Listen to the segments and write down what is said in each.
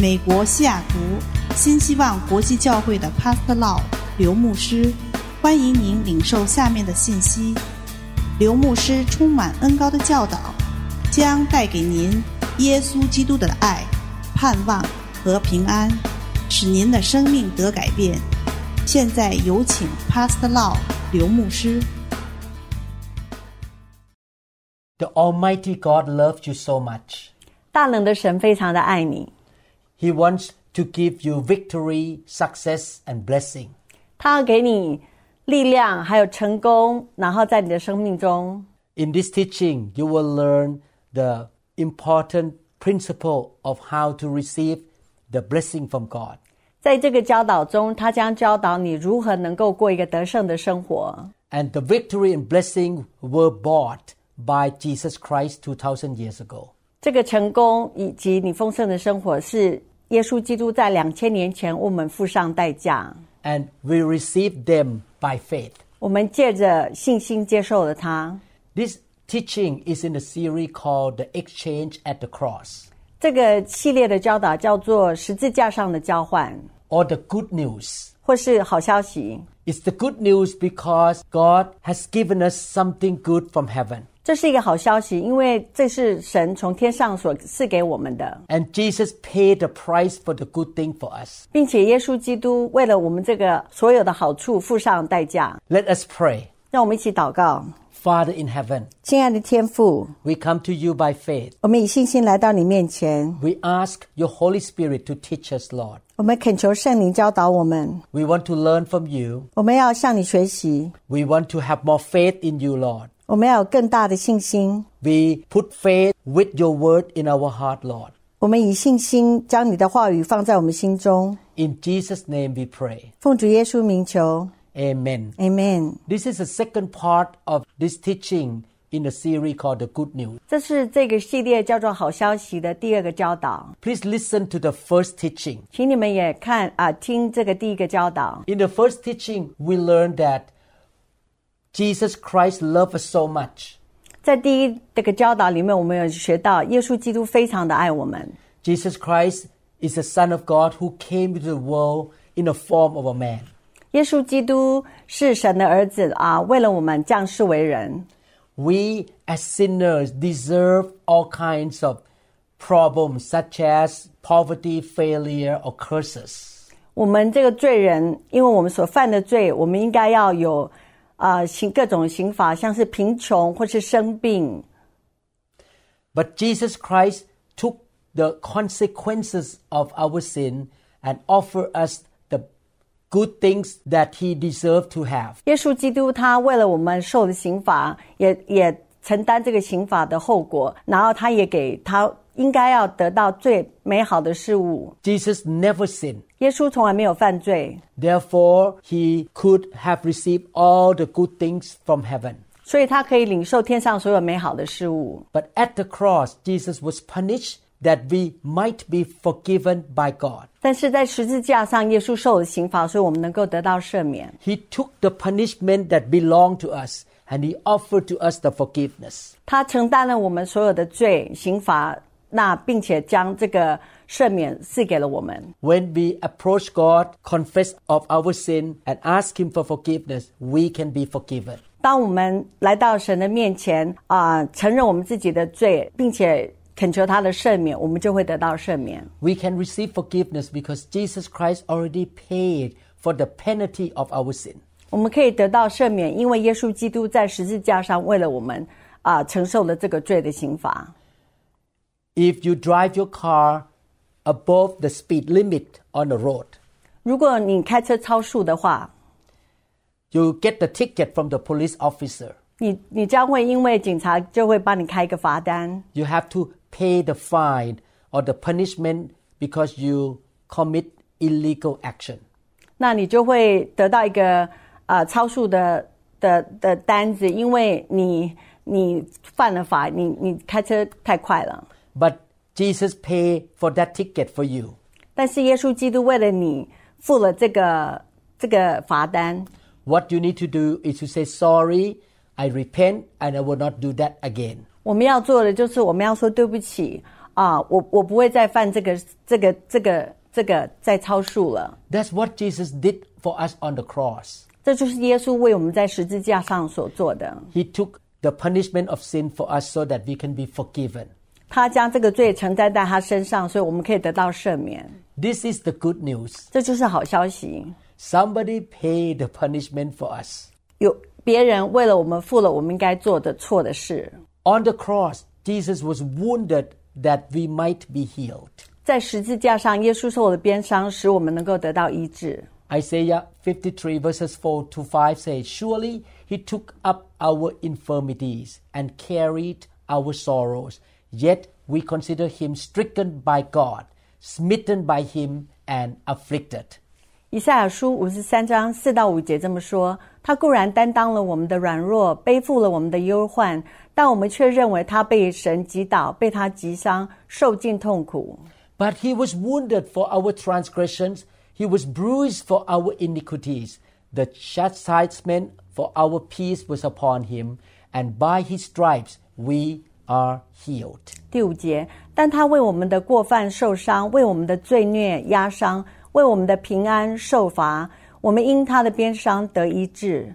美国西雅图新希望国际教会的 Pastor Lau 刘牧师，欢迎您领受下面的信息。刘牧师充满恩膏的教导，将带给您耶稣基督的爱、盼望和平安，使您的生命得改变。现在有请 Pastor Lau 刘牧师。 The Almighty God loves you so much. 大能的神非常的爱你， He wants to give you victory, success, and blessing. 他要给你力量还有成功，然后在你的生命中。 In this teaching, you will learn the important principle of how to receive the blessing from God. 在这个教导中，他将教导你如何能够过一个得胜的生活。 And the victory and blessing were bought by Jesus Christ 2,000 years ago. 这个成功以及你丰盛的生活是耶稣基督在2000年前为我们付上代价， And we receive them by faith. 我们借着信心接受了它。 This teaching is in a series called The Exchange at the Cross, 这个系列的教导叫做十字架上的交换， or the good news. 或是好消息。 It's the good news because God has given us something good from heaven. 这是一个好消息，因为这是神从天上所赐给我们的， And Jesus paid the price for the good thing for us. 并且耶稣基督为了我们这个所有的好处付上代价。 Let us pray. 让我们一起祷告。 Father in heaven, 亲爱的天父， we come to you by faith. 我们以信心来到你面前， We ask your Holy Spirit to teach us, Lord. 我们恳求圣灵教导我们， We want to learn from you. 我们要向你学习， We want to have more faith in you, Lord. 我们要有更大的信心。 We put faith with your word in our heart, Lord. 我们以信心将你的话语放在我们心中。 In Jesus' name we pray. 奉主耶稣名求 Amen. Amen。 This is the second part of this teaching in a series called The Good News. 这是这个系列叫做好消息的第二个教导， Please listen to the first teaching. 请你们也听这个第一个教导。 In the first teaching, we learned that Jesus Christ loved us so much. 在第一这个教导里面，我们有学到耶稣基督非常的爱我们。 Jesus Christ is the Son of God who came into the world in the form of a man. 耶稣基督是神的儿子为了我们降世为人。 We as sinners deserve all kinds of problems such as poverty, failure, or curses. 我们这个罪人，因为我们所犯的罪，我们应该要有各种刑罚，像是贫穷或是生病。 But Jesus Christ took the consequences of our sin and offered us the good things that he deserved to have. 耶稣基督他为了我们受的刑罚，也承担这个刑罚的后果，然后他也给他应该要得到最美好的事物。 Jesus never sinned. 耶稣从来没有犯罪， Therefore, he could have received all the good things from heaven. 所以他可以领受天上所有美好的事物。 But at the cross, Jesus was punished that we might be forgiven by God. 但是在十字架上，耶稣受了刑罚，所以我们能够得到赦免。 He took the punishment that belonged to us and he offered to us the forgiveness. 他承担了我们所有的罪刑罚，并且将这个赦免赐给了我们。 When we approach God, confess of our sin, and ask him for forgiveness, we can be forgiven. 当我们来到神的面前承认我们自己的罪，并且恳求他的赦免，我们就会得到赦免。 We can receive forgiveness because Jesus Christ already paid for the penalty of our sin. 我们可以得到赦免，因为耶稣基督在十字架上为了我们承受了这个罪的刑罚。 If you drive your car above the speed limit on the road, 如果你开车超速的话， you get the ticket from the police officer. 你将会因为警察就会帮你开一个罚单， You have to pay the fine or the punishment because you commit illegal action. 那你就会得到一个超速的单子，因为你犯了法，你开车太快了。 But Jesus paid for that ticket for you. 但是耶稣基督为了你付了这个罚单。 What you need to do is to say, sorry, I repent, and I will not do that again. 我们要做的就是我们要说对不起我不会再犯这个再超数了。 That's what Jesus did for us on the cross. 这就是耶稣为我们在十字架上所做的。 He took the punishment of sin for us so that we can be forgiven. 他将这个罪承担在他身上，所以我们可以得到赦免。 This is the good news. 这就是好消息。 Somebody paid the punishment for us. 有别人为了我们付了我们应该做的错的事。 On the cross, Jesus was wounded that we might be healed. 在十字架上，耶稣受了鞭伤，使我们能够得到医治。 Isaiah 53 verses 4 to 5 says, Surely he took up our infirmities and carried our sorrows. Yet we consider him stricken by God, smitten by him and afflicted. 以赛亚书53章4到5节这么说：他固然担当了我们的软弱，背负了我们的忧患，但我们却认为他被神击倒，被他击伤，受尽痛苦。 But he was wounded for our transgressions, he was bruised for our iniquities. The chastisement for our peace was upon him, and by his stripes we are healed. 第5节，但他为我们的过犯受伤，为我们的罪孽压伤，为我们的平安受罚，我们因他的鞭伤得医治。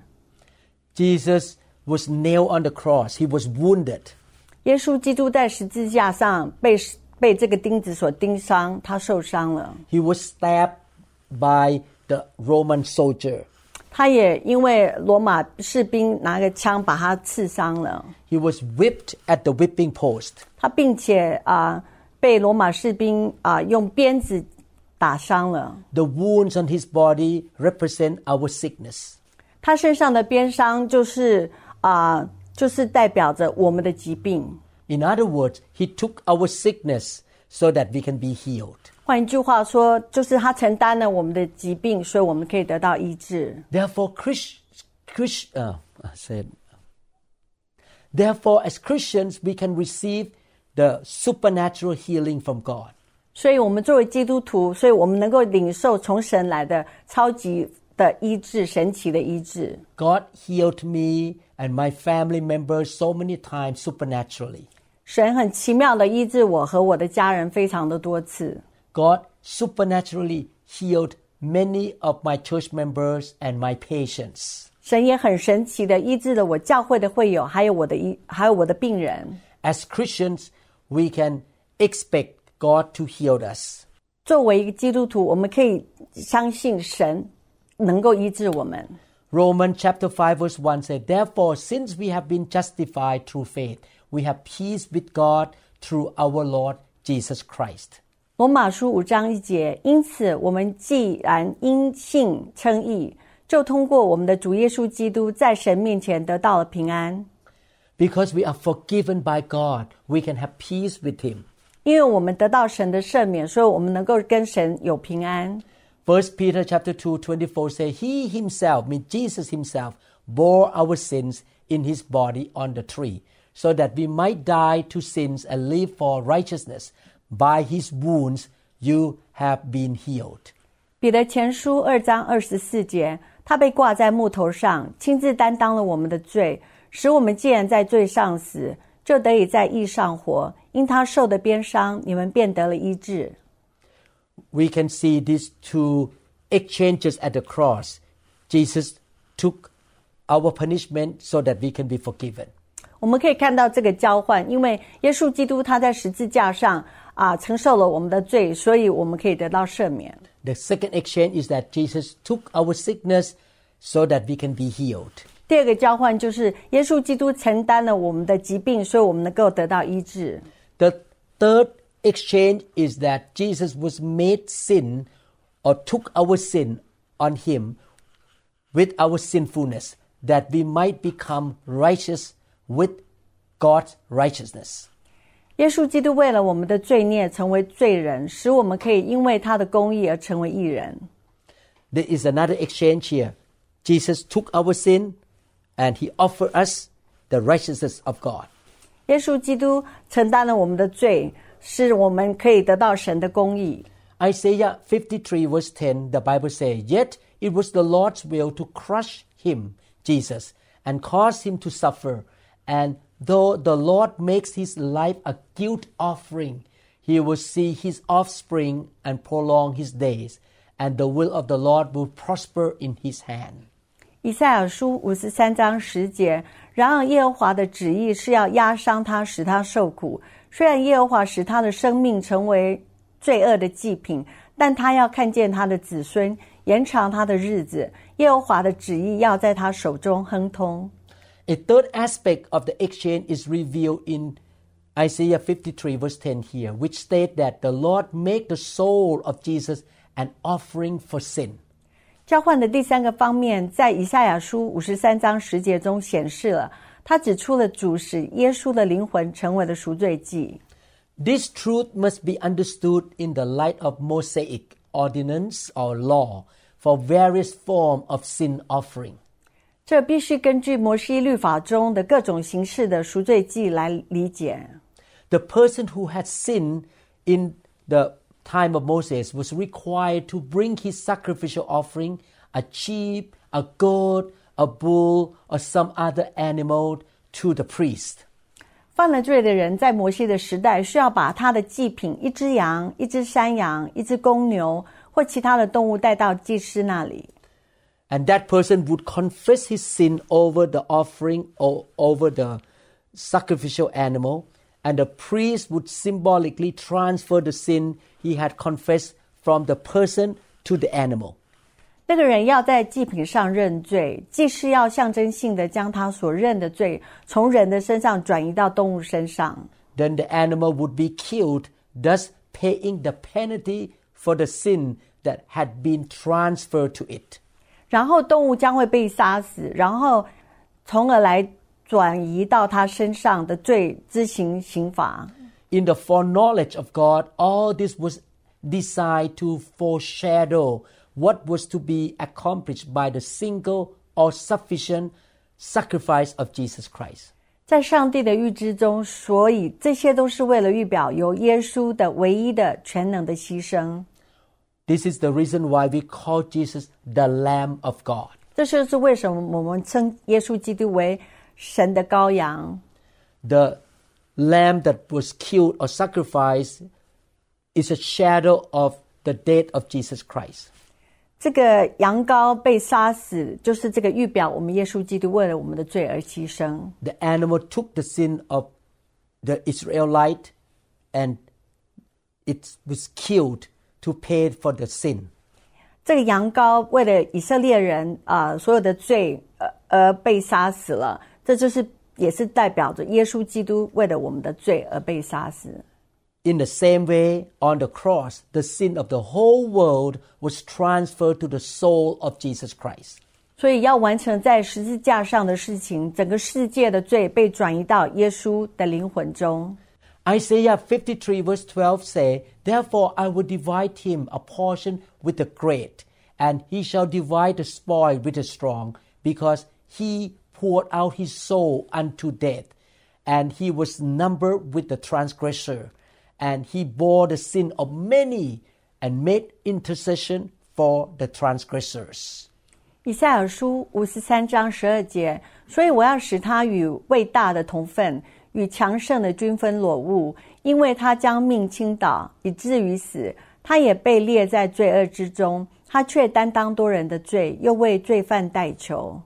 Jesus was nailed on the cross. He was wounded. 耶稣基督在十字架上被这个钉子所钉伤，他受伤了。 He was stabbed by the Roman soldier. 他也因为罗马士兵拿个枪把他刺伤了。 He was whipped at the whipping post. 他并且被罗马士兵用鞭子打伤了。 The wounds on his body represent our sickness. 他身上的鞭伤就是代表着我们的疾病。 In other words, he took our sickness so that we can be healed. 换一句话说，就是他承担了我们的疾病，所以我们可以得到医治。 Therefore, as Christians, we can receive the supernatural healing from God. 所以我们作为基督徒，所以我们能够领受从神来的超级的医治，神奇的医治。 God healed me and my family members so many times supernaturally. 神很奇妙的医治我和我的家人非常的多次。 God supernaturally healed many of my church members and my patients. 神也很神奇的医治了我教会的会友，还有我的病人。 As Christians, we can expect God to heal us. 作为一个基督徒，我们可以相信神能够医治我们。 Romans chapter 5 verse 1 said, Therefore, since we have been justified through faith, we have peace with God through our Lord Jesus Christ. 罗马书5章1节，因此我们既然因信称义，就通过我们的主耶稣基督在神面前得到了平安。 Because we are forgiven by God, we can have peace with him. 因为我们得到神的赦免，所以我们能够跟神有平安。 1 Peter chapter 2:24 say, He himself, means Jesus himself, bore our sins in his body on the tree, so that we might die to sins and live for righteousness. By his wounds you have been healed. 彼得前书2章24节，他被挂在木头上，亲自担当了我们的罪，使我们既然在罪上死，就得以在义上活。因他受的鞭伤，你们便得了医治。 We can see these two exchanges at the cross. Jesus took our punishment so that we can be forgiven. 我们可以看到这个交换，因为耶稣基督他在十字架上承受了我们的罪，所以我们可以得到赦免。 The second exchange is that Jesus took our sickness so that we can be healed. 第二个交换就是耶稣基督承担了我们的疾病，所以我们能够得到医治。 The third exchange is that Jesus was made sin or took our sin on him with our sinfulness, that we might become righteous with God's righteousness. 耶稣基督为了我们的罪孽成为罪人，使我们可以因为他的公义而成为义人。 There is another exchange here. Jesus took our sin and he offered us the righteousness of God. 耶稣基督承担了我们的罪，使我们可以得到神的公义。 Isaiah 53 verse 10, the Bible says, Yet it was the Lord's will to crush him, Jesus, and cause him to suffer. And though the Lord makes his life a guilt offering, he will see his offspring and prolong his days, and the will of the Lord will prosper in his hand. 以赛亚书53章10节，然而耶和华的旨意是要压伤他，使他受苦。虽然耶和华使他的生命成为罪恶的祭品，但他要看见他的子孙，延长他的日子。耶和华的旨意要在他手中亨通。 A third aspect of the exchange is revealed in Isaiah 53 verse 10 here, which state that the Lord made the soul of Jesus an offering for sin. 交换的第三个方面，在以赛亚书53章10节中显示了，他指出了主使耶稣的灵魂成为了赎罪祭。 This truth must be understood in the light of Mosaic ordinance or law for various forms of sin offering. 这必须根据摩西律法中的各种形式的赎罪祭来理解。 The person who had sinned in the time of Moses was required to bring his sacrificial offering, a sheep, a goat, a bull, or some other animal to the priest. 犯了罪的人在摩西的时代需要把他的祭品一只羊、一只山羊、一只公牛或其他的动物带到祭司那里。 And that person would confess his sin over the offering or over the sacrificial animal, and the priest would symbolically transfer the sin he had confessed from the person to the animal. 那个人要在祭品上认罪，祭司要象征性的将他所认的罪从人的身上转移到动物身上。 Then the animal would be killed, thus paying the penalty for the sin that had been transferred to it. 然后动物将会被杀死，然后从而来转移到他身上的罪之刑罚。 In the foreknowledge of God, all this was designed to foreshadow what was to be accomplished by the single or sufficient sacrifice of Jesus Christ. 在上帝的预知中，所以这些都是为了预表由耶稣的唯一的全能的牺牲。 This is the reason why we call Jesus the Lamb of God. 这就是为什么我们称耶稣基督为神的羔羊。 The lamb that was killed or sacrificed is a shadow of the death of Jesus Christ. 这个羊羔被杀死，就是这个预表我们耶稣基督为了我们的罪而牺牲。 The animal took the sin of the Israelite and it was killed to pay for the sin. 这个羊羔为了以色列人所有的罪而被杀死了，这就是也是代表着耶稣基督为了我们的罪而被杀死。 In the same way, on the cross, the sin of the whole world was transferred to the soul of Jesus Christ. 所以要完成在十字架上的事情，整个世界的罪被转移到耶稣的灵魂中。 Isaiah 53 verse 12 say, Therefore I will divide him a portion with the great, and he shall divide the spoil with the strong, because he poured out his soul unto death, and he was numbered with the transgressor, and he bore the sin of many, and made intercession for the transgressors. 以赛亚书53章12节，所以我要使他与伟大的同分，与强盛的均分裸物，因为他将命倾倒，以至于死。他也被列在罪恶之中，他却担当多人的罪，又为罪犯代求。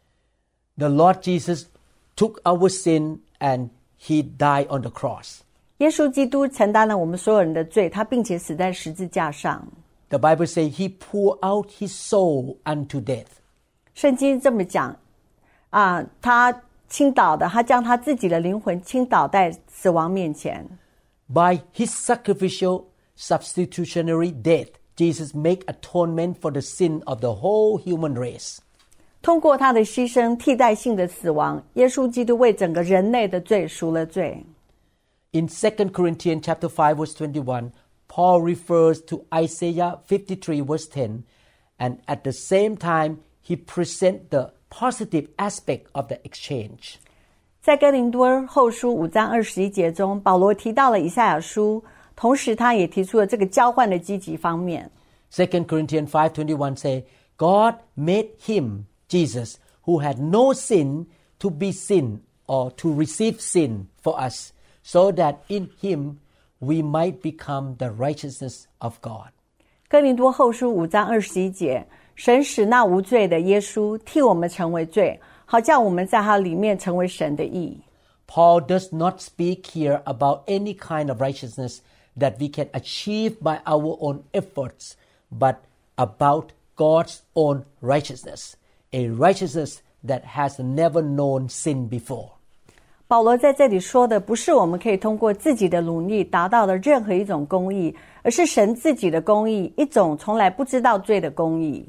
The Lord Jesus took our sin and he died on the cross. 耶稣基督承担了我们所有人的罪，他并且死在十字架上。 The Bible says he poured out his soul unto death. 圣经这么讲他倾倒的，他将他自己的灵魂倾倒在死亡面前。 By his sacrificial substitutionary death, Jesus made atonement for the sin of the whole human race. 通过他的牺牲替代性的死亡，耶稣基督为整个人类的罪赎了罪。 In 2 Corinthians chapter 5 verse 21, Paul refers to Isaiah 53 verse 10, and at the same time he presents the positive aspect of the exchange. 在哥林多后书5章21节中，保罗提到了以赛亚书，同时他也提出了这个交换的积极方面。 2 Corinthians 5:21 say, God made him, Jesus, who had no sin, to be sin or to receive sin for us, so that in him we might become the righteousness of God. 哥林多后书5章21节，神使那无罪的耶稣替我们成为罪，好叫我们在他里面成为神的义。 Paul does not speak here about any kind of righteousness that we can achieve by our own efforts, but about God's own righteousness, a righteousness that has never known sin before. 保罗在这里说的不是我们可以通过自己的努力达到的任何一种公义，而是神自己的公义，一种从来不知道罪的公义。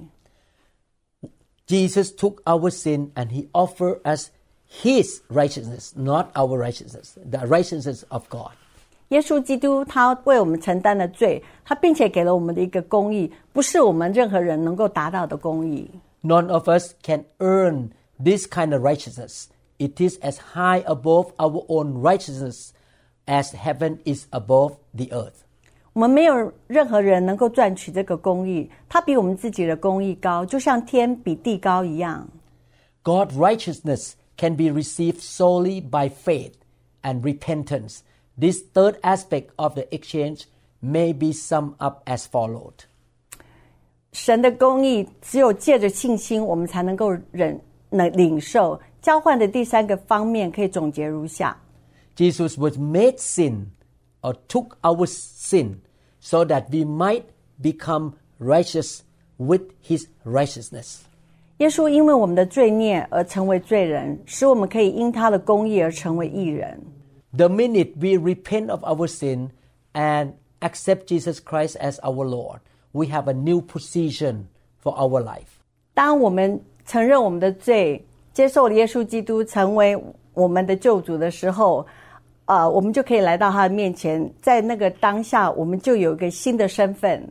Jesus took our sin and he offered us his righteousness, not our righteousness, the righteousness of God. 耶稣基督他为我们承担了罪，他并且给了我们的一个公义，不是我们任何人能够达到的公义。 None of us can earn this kind of righteousness. It is as high above our own righteousness as heaven is above the earth. 我们没有任何人能够赚取这个公义，它比我们自己的公义高，就像天比地高一样。 God's righteousness can be received solely by faith and repentance. This third aspect of the exchange may be summed up as followed. 神的公义只有借着信心，我们才能够领受。交换的第三个方面可以总结如下： Jesus was made sin or took our sin so that we might become righteous with his righteousness. 耶稣因为我们的罪孽而成为罪人，使我们可以因他的公义而成为义人。 The minute we repent of our sin and accept Jesus Christ as our Lord, we have a new position for our life. 当我们承认我们的罪，接受了耶稣基督成为我们的救主的时候，我们就可以来到他的面前，在那个当下，我们就有一个新的身份。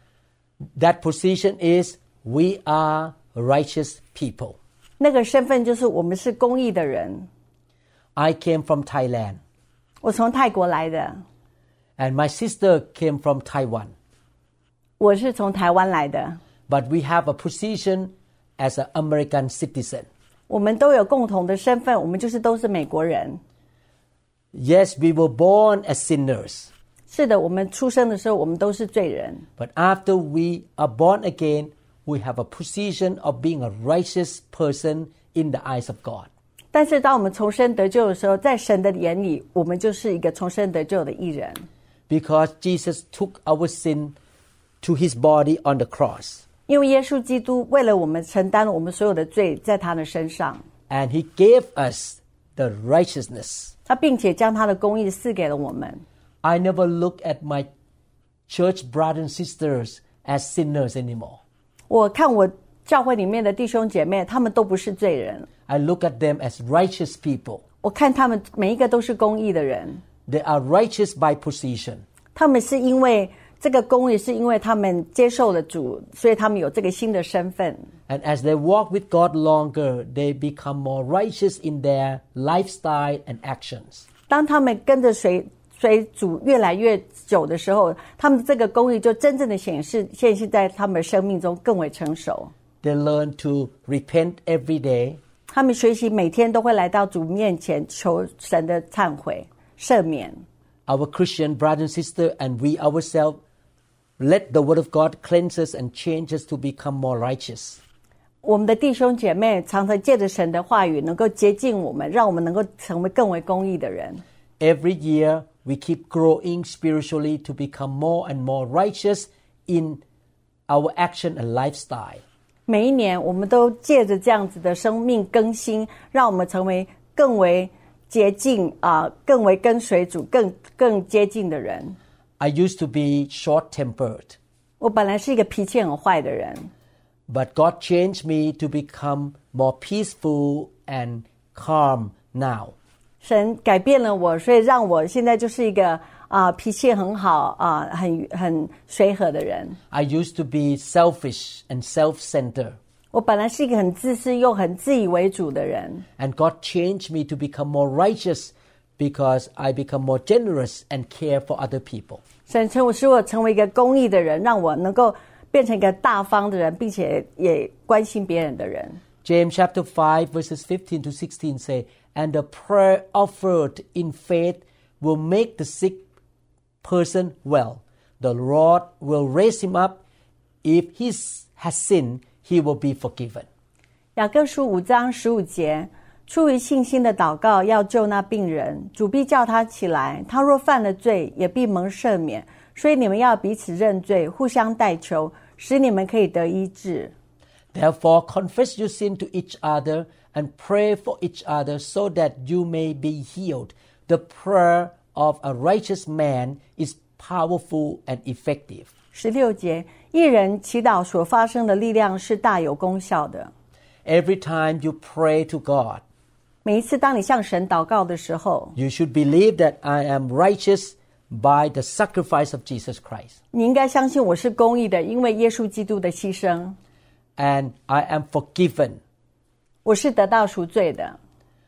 That position is we are righteous people. 那个身份就是我们是公义的人。 I came from Thailand. 我从泰国来的。 And my sister came from Taiwan. 我是从台湾来的。 But we have a position as an American citizen. 我们都有共同的身份，我们就是都是美国人。 Yes, we were born as sinners. 是的，我们出生的时候，我们都是罪人。 But after we are born again, we have a position of being a righteous person in the eyes of God. 但是当我们重生得救的时候，在神的眼里，我们就是一个重生得救的义人。 Because Jesus took our sin to his body on the cross. 因为耶稣基督为了我们承担了我们所有的罪，在他的身上。 And he gave us the righteousness. 他并且将他的公义赐给了我们。 I never look at my church brothers and sisters as sinners anymore. 我看我教会里面的弟兄姐妹，他们都不是罪人。 I look at them as righteous people. 我看他们每一个都是公义的人。 They are righteous by position. 他们是因为这个公义，是因为他们接受了主，所以他们有这个新的身份。 And as they walk with God longer, they become more righteous in their lifestyle and actions. 当他们跟着随主越来越久的时候，他们这个公义就真正的显现在他们的生命中更为成熟。 They learn to repent every day. 他们学习每天都会来到主面前求神的忏悔赦免。 Our Christian brothers and sisters and we ourselves let the word of God cleanse us and change us to become more righteous. 我们的弟兄姐妹常常借着神的话语能够洁净我们，让我们能够成为更为公义的人。 Every year we keep growing spiritually to become more and more righteous in our action and lifestyle. 每一年我们都借着这样子的生命更新，让我们成为更为洁净更为跟随主更接近的人。 I used to be short-tempered. 我本来是一个脾气很坏的人。 But God changed me to become more peaceful and calm now. 神改变了我，所以让我现在就是一个脾气很好很随和的人。 I used to be selfish and self-centered. 我本来是一个很自私又很自以为主的人。 And God changed me to become more righteous because I become more generous and care for other people. 神使我成为一个公义的人，让我能够变成一个大方的人，并且也关心别人的人。 James chapter 5 verses 15 to 16 say, And the prayer offered in faith will make the sick person well, the Lord will raise him up. If he has sinned, he will be forgiven. 雅各书5章15节，出于信心的祷告要救那病人，主必叫他起来。他若犯了罪，也必蒙赦免。所以你们要彼此认罪，互相代求，使你们可以得医治。 Therefore, confess your sin to each other and pray for each other so that you may be healed. The prayer of a righteous man is powerful and effective. 16节，一人祈祷所发生的力量是大有功效的。 Every time you pray to God, 每一次当你向神祷告的时候， you should believe that I am righteous by the sacrifice of Jesus Christ. 你应该相信我是公义的，因为耶稣基督的牺牲。 And I am forgiven. 我是得到赎罪的，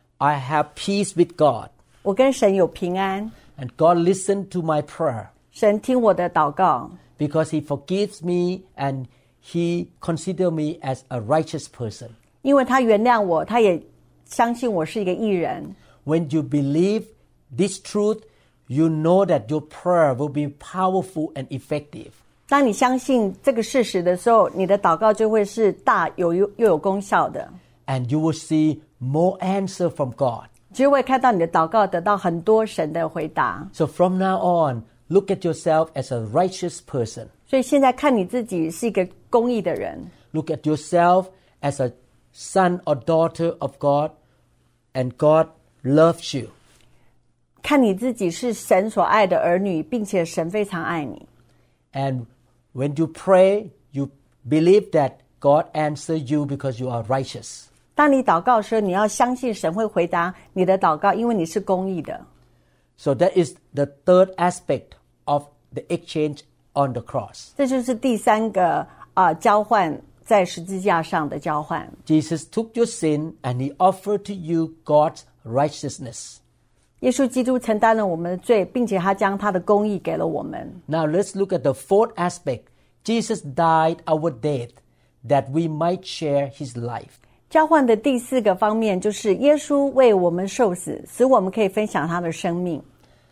I have peace with God. 我跟神有平安。 And God listened to my prayer 神听我的祷告， because He forgives me and He considers me as a righteous person. 因为他原谅我，他也相信我是一个义人。 When you believe this truth, you know that your prayer will be powerful and effective. 当你相信这个事实的时候，你的祷告就会是大又有功效的。 And you will see more answer from God. 就会看到你的祷告得到很多神的回答。 So from now on, look at yourself as a righteous person. 所以现在看你自己是一个公义的人， Look at yourself as a son or daughter of God, and God loves you. 看你自己是神所爱的儿女，并且神非常爱你。 And when you pray, you believe that God answers you because you are righteous. 当你祷告的时候，你要相信神会回答你的祷告，因为你是公义的。 So that is the third aspect of the exchange on the cross. 这就是第三个交换，在十字架上的交换。 Jesus took your sin and He offered to you God's righteousness. 耶稣基督承担了我们的罪，并且他将他的公义给了我们。 Now let's look at the fourth aspect. Jesus died our death that we might share His life. 交换的第四个方面就是耶稣为我们受死，使我们可以分享他的生命。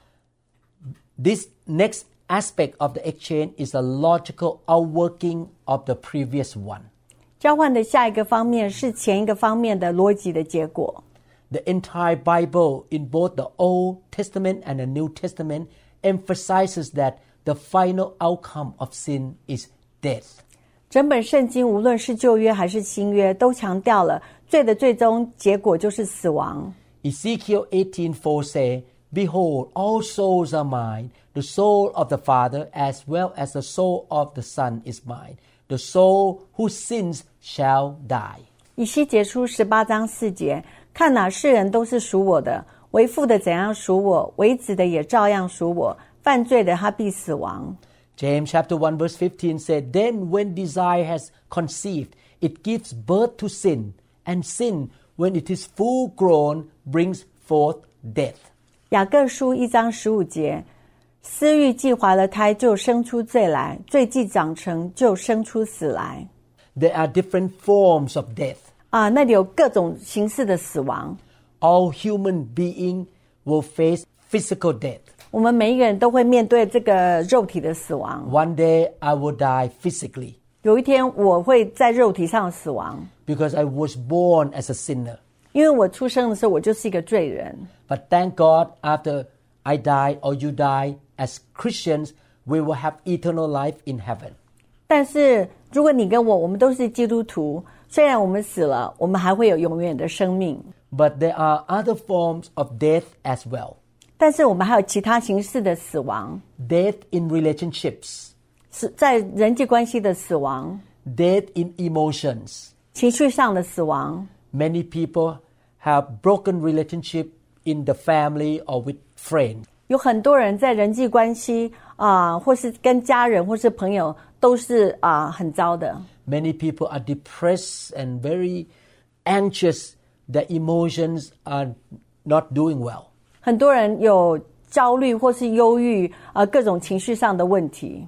This next aspect of the exchange is a logical outworking of the previous one. 交换的下一个方面是前一个方面的逻辑的结果。 The entire Bible in both the Old Testament and the New Testament emphasizes that the final outcome of sin is death. 整本圣经无论是旧约还是新约，都强调了罪的最终结果就是死亡。 Ezekiel 18:4 says, Behold, all souls are mine. The soul of the Father as well as the soul of the Son is mine. The soul who sins shall die. 以西结书18章4节，看哪，世人都是属我的，为父的怎样属我，为子的也照样属我，犯罪的他必死亡。 James chapter 1 verse 15 said, Then when desire has conceived, it gives birth to sin, and sin, when it is full grown, brings forth death. 雅各书1章15节，私欲既怀了胎，就生出罪来；罪既长成，就生出死来。 There are different forms of death. 那里有各种形式的死亡。 All human beings will face physical death. 我们每一个人都会面对这个肉体的死亡。 One day I will die physically 有一天我会在肉体上死亡， because I was born as a sinner. 因为我出生的时候我就是一个罪人。 But thank God, after I die or you die, as Christians, we will have eternal life in heaven. 但是如果你跟我们都是基督徒，虽然我们死了，我们还会有永远的生命。 But there are other forms of death as well. 但是我们还有其他形式的死亡， Death in relationships, 是在人际关系的死亡， death in emotions. 情绪上的死亡。 Many people have broken relationship in the family or with friends. 有很多人在人际关系或是跟家人或是朋友都是很糟的。 Many people are depressed and very anxious. Their emotions are not doing well. 很多人有焦虑或是忧郁各种情绪上的问题。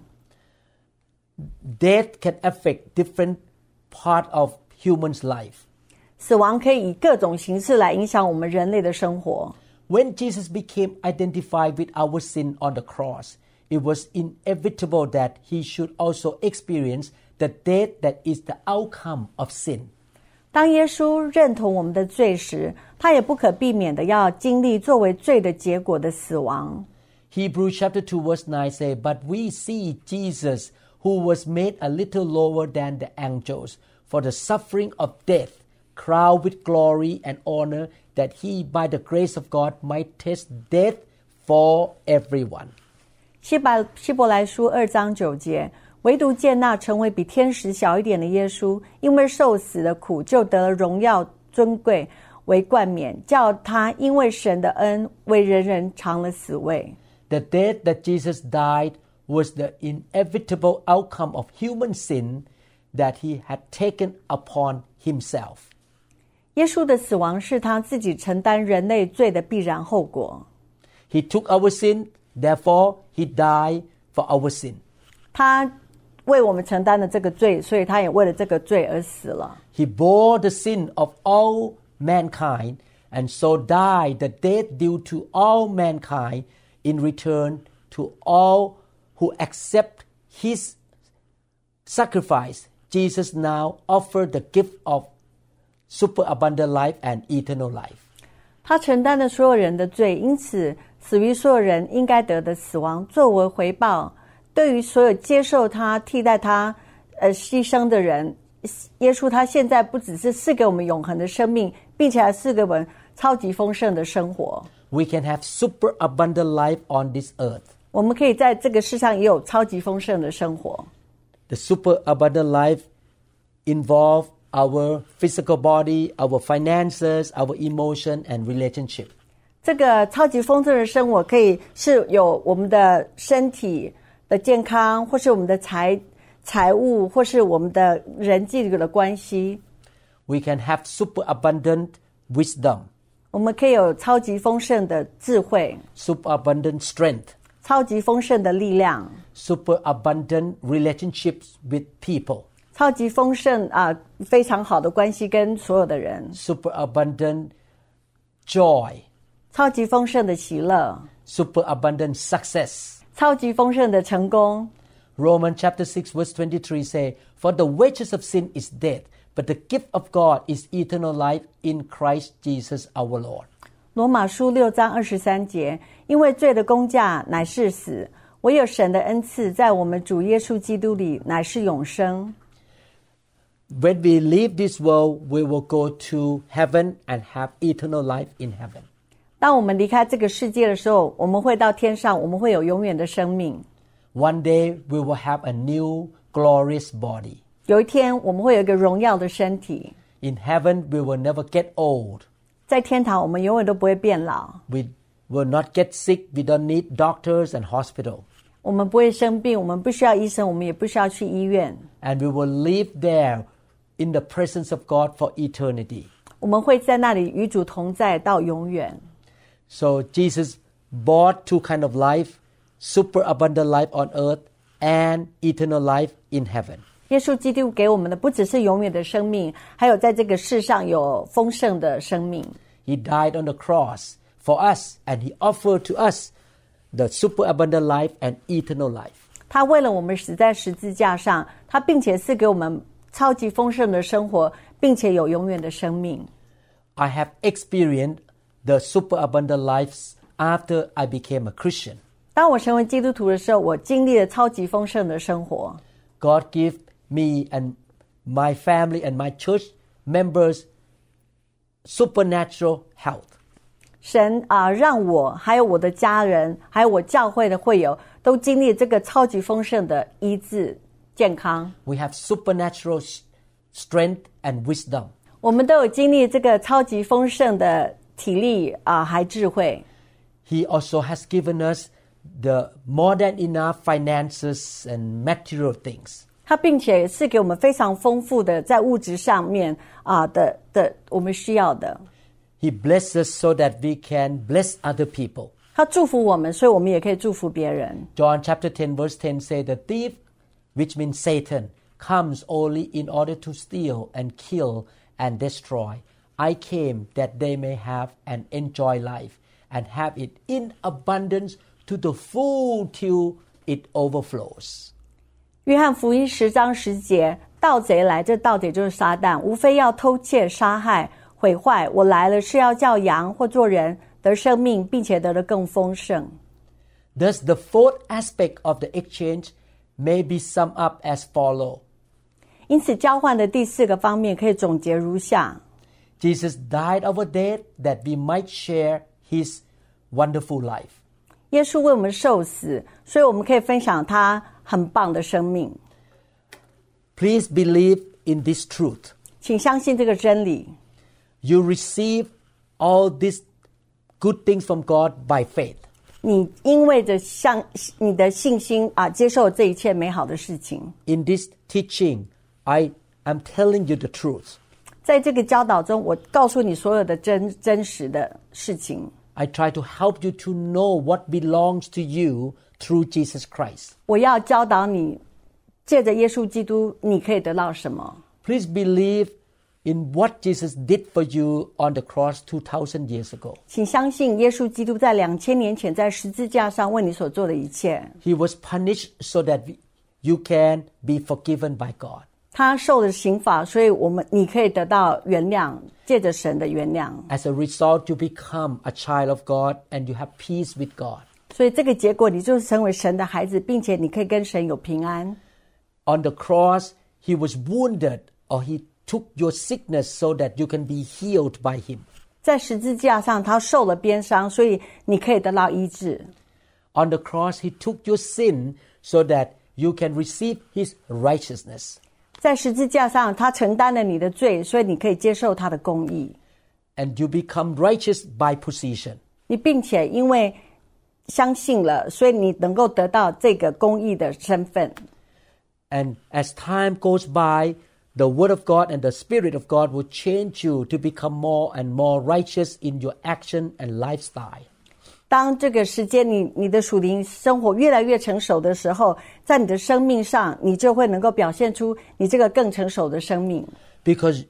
Death can affect different part of human's life. 死亡可以以各种形式来影响我们人类的生活。 When Jesus became identified with our sin on the cross, it was inevitable that he should also experience the death that is the outcome of sin. 当耶稣认同我们的罪时，他也不可避免的要经历作为罪的结果的死亡。 Hebrews chapter 2 verse 9 say, But we see Jesus, who was made a little lower than the angels, for the suffering of death, crowned with glory and honor, that he by the grace of God might taste death for everyone. 希伯来书2章9节，唯独见那成为比天使小一点的耶稣，因为受死的苦，就得了荣耀尊贵为冠冕，叫他因为神的恩，为人人尝了死味。 The death that Jesus died was the inevitable outcome of human sin that he had taken upon himself. 耶稣的死亡是他自己承担人类罪的必然后果。 He took our sin, therefore he died for our sin. 他为我们承担了这个罪，所以他也为了这个罪而死了。 He bore the sin of all mankind and so died the death due to all mankind in return to all who accept his sacrifice. Jesus now offered the gift of superabundant life and eternal life. 他承担了所有人的罪，因此死于所有人应该得的死亡，作为回报，对于所有接受他、替代他牺牲的人，耶稣他现在不只是赐给我们永恒的生命，并且还赐给我们超级丰盛的生活。 We can have superabundant life on this earth. 我们可以在这个世上也有超级丰盛的生活。 The superabundant life involves our physical body, our finances, our emotion, and relationship. 这个超级丰盛的生活可以是有我们的身体的健康，或是我们的财务，或是我们的人际的关系。 We can have superabundant wisdom. 我们可以有超级丰盛的智慧， Superabundant strength. 超级丰盛的力量， Superabundant relationships with people. 超级丰盛非常好的关系跟所有的人， Superabundant joy. 超级丰盛的喜乐， Superabundant success. 超级丰盛的成功。 Romans chapter 6 verse 23 say, For the wages of sin is death, but the gift of God is eternal life in Christ Jesus our Lord. 罗马书6章23节，因为罪的工价乃是死，唯有神的恩赐在我们主耶稣基督里乃是永生。 When we leave this world, we will go to heaven and have eternal life in heaven. 当我们离开这个世界的时候，我们会到天上，我们会有永远的生命。 One day, we will have a new glorious body. 有一天，我们会有一个荣耀的身体。 In heaven, we will never get old. 在天堂，我们永远都不会变老。 We will not get sick. We don't need doctors and hospital. 我们不会生病，我们不需要医生，我们也不需要去医院。 And we will live there in the presence of God for eternity. 我们会在那里与主同在到永远。 So Jesus bought two kinds of life, superabundant life on earth and eternal life in heaven. 耶稣基督给我们的不只是永远的生命，还有在这个世上有丰盛的生命。 He died on the cross for us, and he offered to us the superabundant life and eternal life. 他为了我们死在十字架上，他并且赐给我们超级丰盛的生活，并且有永远的生命。 I have experienced the superabundant life after I became a Christian. 当我成为基督徒的时候，我经历了超级丰盛的生活。 God gave me and my family and my church members supernatural health. 神让我还有我的家人，还有我教会的会友，都经历这个超级丰盛的医治健康。 We have supernatural strength and wisdom. 我们都有经历这个超级丰盛的体力还智慧。 He also has given us the more than enough finances and material things. 他并且是给我们非常丰富的在物质上面的我们需要的。 He blesses us so that we can bless other people. 他祝福我们，所以我们也可以祝福别人。 John chapter 10 verse 10 say, The thief, which means Satan, comes only in order to steal and kill and destroy. I came that they may have and enjoy life and have it in abundance to the full till it overflows. 约翰福音10章10节，盗贼来，这盗贼就是撒旦，无非要偷窃、杀害、毁坏。我来了是要叫羊或做人得生命，并且得的更丰盛。 Thus, the fourth aspect of the exchange may be summed up as follow. 因此，交换的第4个方面可以总结如下 ：Jesus died our death that we might share His wonderful life. 耶稣为我们受死，所以我们可以分享他很棒的生命。 Please believe in this truth. 请相信这个真理。 You receive all these good things from God by faith. 你因为着你的信心接受这一切美好的事情。 In this teaching, I am telling you the truth. 在这个教导中，我告诉你所有的真实的事情。 I try to help you to know what belongs to you through Jesus Christ. 我要教导你，借着耶稣基督，你可以得到什么。 Please believe in what Jesus did for you on the cross 2,000 years ago. 请相信耶稣基督在2000年前在十字架上为你所做的一切。 He was punished so that you can be forgiven by God. 他受了刑罚，所以你可以得到原谅，借着神的原谅。 As a result, you become a child of God and you have peace with God. 所以这个结果，你就是成为神的孩子，并且你可以跟神有平安。 On the cross, He was wounded, or He took your sickness so that you can be healed by Him. 在十字架上，他受了鞭伤，所以你可以得到医治。 On the cross, He took your sin so that you can receive His righteousness. 在十字架上，他承担了你的罪，所以你可以接受他的公义。 And you become righteous by position. 你并且因为相信了，所以你能够得到这个公义的身份。 And as time goes by, the Word of God and the Spirit of God will change you to become more and more righteous in your action and lifestyle. 当这个时间你的属灵生活越来越成熟的时候，在你的生命上，你就会能够表现出你这个更成熟的生命。 Because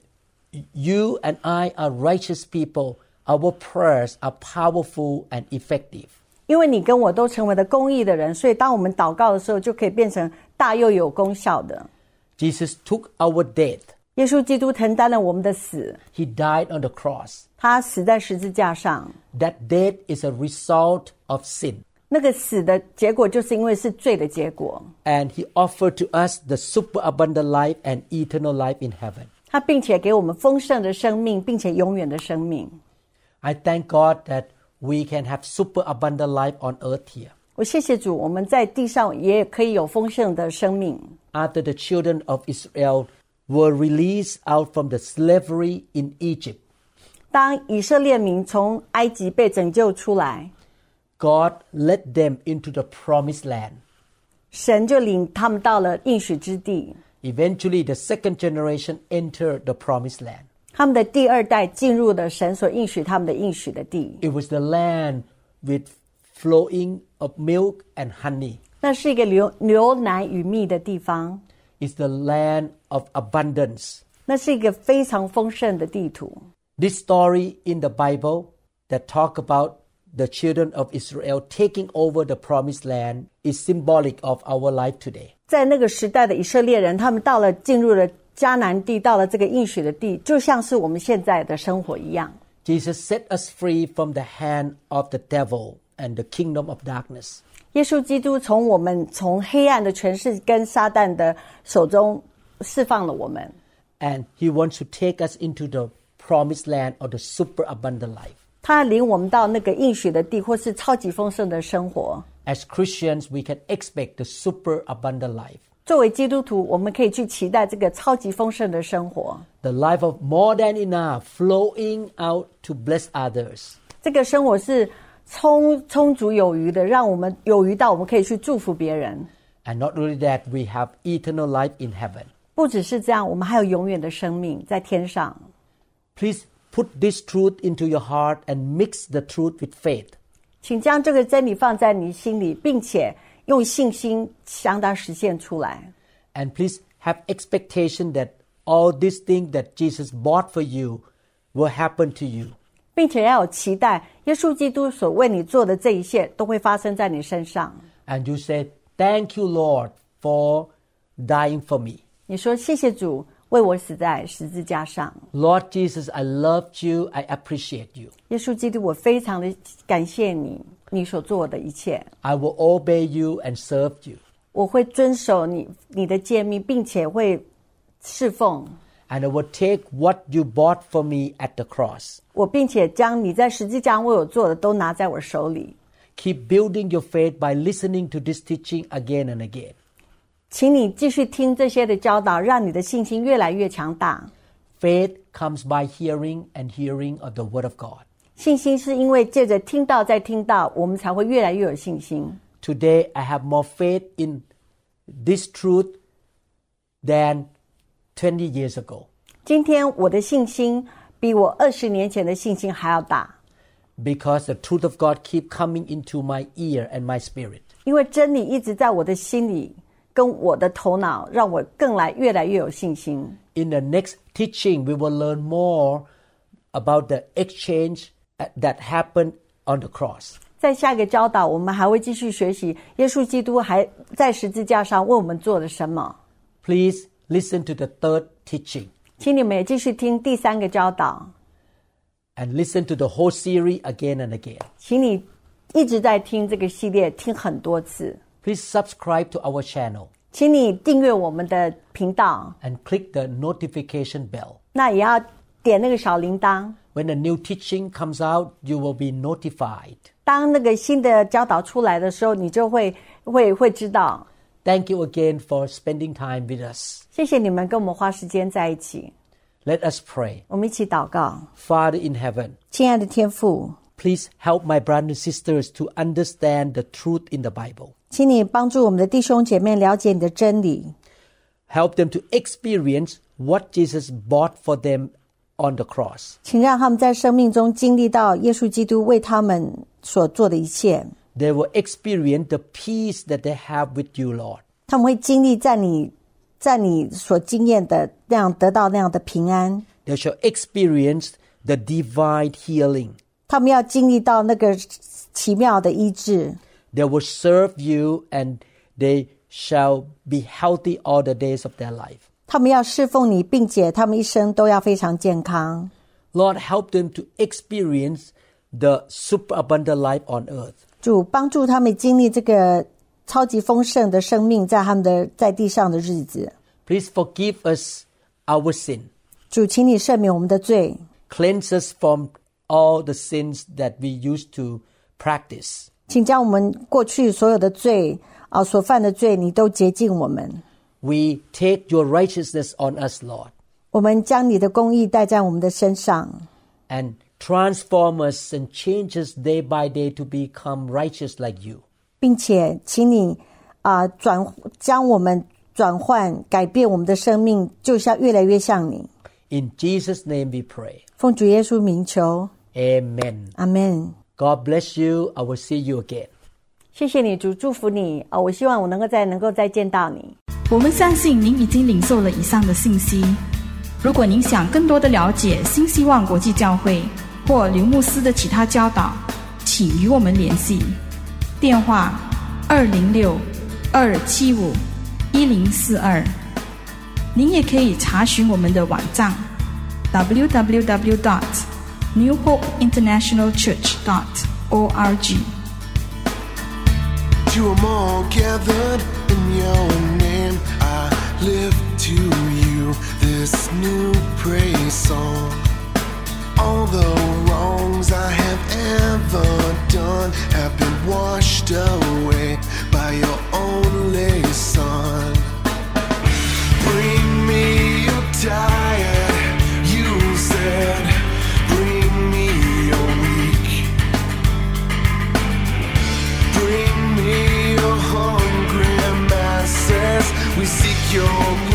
you and I are righteous people, our prayers are powerful and effective. 因为你跟我都成为了公义的人，所以当我们祷告的时候，就可以变成大又有功效的。 Jesus took our death. 耶稣基督承担了我们的死， He died on the cross. 他死在十字架上。 That death is a result of sin. 那个死的结果就是因为是罪的结果。 And He offered to us the superabundant life and eternal life in heaven. 他并且给我们丰盛的生命，并且永远的生命。 I thank God that we can have superabundant life on earth here. 我谢谢主，我们在地上也可以有丰盛的生命。 After the children of Israel were released out from the slavery in Egypt, 当以色列民从埃及被拯救出来， God led them into the promised land. 神就领他们到了应许之地。 Eventually, the second generation entered the promised land. 他们的第二代进入了神所应许他们的应许的地。 It was the land with flowing of milk and honey. 那是一个流奶与蜜的地方， It's the land of abundance. 那是一个非常丰盛的地图。 This story in the Bible that talk about the children of Israel taking over the promised land is symbolic of our life today. 在那个时代的以色列人，他们进入了迦南地，到了这个应许的地，就像是我们现在的生活一样。 Jesus set us free from the hand of the devil and the kingdom of darkness. 耶稣基督从黑暗的权势跟撒旦的手中释放了我们， And He wants to take us into the promised land or the superabundant life. 他领我们到那个应许的地，或是超级丰盛的生活。 As Christians, we can expect the superabundant life. 作为基督徒，我们可以去期待这个超级丰盛的生活。 The life of more than enough flowing out to bless others. 这个生活是充足有余的，让我们有余到我们可以去祝福别人。 And not only that, we have eternal life in heaven. 不只是这样，我们还有永远的生命在天上。 Please put this truth into your heart and mix the truth with faith. 请将这个真理放在你心里，并且用信心将它实现出来。 And please have expectation that all these things that Jesus bought for you will happen to you. 并且要有期待，耶稣基督所为你做的这一切都会发生在你身上。 And you say, Thank you, Lord, for dying for me. 你说谢谢主为我死在十字架上。 Lord Jesus, I loved you. I appreciate you. 耶稣基督，我非常的感谢你，你所做的一切。 I will obey you and serve you. 我会遵守你的诫命，并且会侍奉。 And I will take what you bought for me at the cross. 我并且将你在十字架为我做的都拿在我手里。 Keep building your faith by listening to this teaching again and again. 请你继续听这些的教导，让你的信心越来越强大。 Faith comes by hearing and hearing of the Word of God. 信心是因为借着听到再听到，我们才会越来越有信心。 Today, I have more faith in this truth than 20 years ago. 今天我的信心比我20年前的信心还要大， Because the truth of God keep coming into my ear and my spirit. 因为真理一直在我的心里跟我的头脑，让我越来越有信心。 In the next teaching, we will learn more about the exchange that happened on the cross. 在下一个教导，我们还会继续学习耶稣基督还在十字架上为我们做了什么。 Please listen to the third teaching 请你们也继续听第3个教导， and listen to the whole series again and again. 请你一直在听这个系列，听很多次。 Please subscribe to our channel 请你订阅我们的频道， and click the notification bell. 那也要点那个小铃铛。 When a new teaching comes out, you will be notified. 当那个新的教导出来的时候，你就会知道。 Thank you again for spending time with us. 谢谢你们跟我们花时间在一起。 Let us pray. 我们一起祷告。 Father in heaven, 亲爱的天父， please help my brothers and sisters to understand the truth in the Bible. 请你帮助我们的弟兄姐妹了解你的真理， Help them to experience what Jesus bought for them on the cross. 请让他们在生命中经历到耶稣基督为他们所做的一切。 They will experience the peace that they have with you, Lord. 他们会经历在你所经验的那样得到那样的平安。 They shall experience the divine healing. 他们要经历到那个奇妙的医治。 They will serve you and they shall be healthy all the days of their life. 他们要侍奉你，并且他们一生都要非常健康。 Lord, help them to experience the superabundant life on earth. 主帮助他们经历这个超级丰盛的生命，在他们的在地上的日子。 Please forgive us our sin. 主，请你赦免我们的罪， Cleanse us from all the sins that we used to practice. 请将我们过去所有的罪所犯的罪，你都洁净我们。 We take your righteousness on us, Lord, 我们将你的公义带在我们的身上， and transform us and change us day by day to become righteous like you. 并且请你将我们转换改变我们的生命，就像越来越像你。 In Jesus' name we pray. 奉主耶稣名求， Amen. 阿们。 God bless you. I will see you again. 谢谢你，主，祝福你。我希望我能够再见到你。 我们相信您已经领受了以上的信息。如果您想更多的了解新希望国际教会或刘牧师的其他教导，请与我们联系。电话206-275-1042。您也可以查询我们的网站 www.newhopeinternationalchurch.org。 To 'em all gathered in your name, I lift to you this new praise song. All the wrongs I have ever done have been washed away by your only Son. Bring me your tired, you said. Bring me your weak. Bring me your hungry masses. We seek your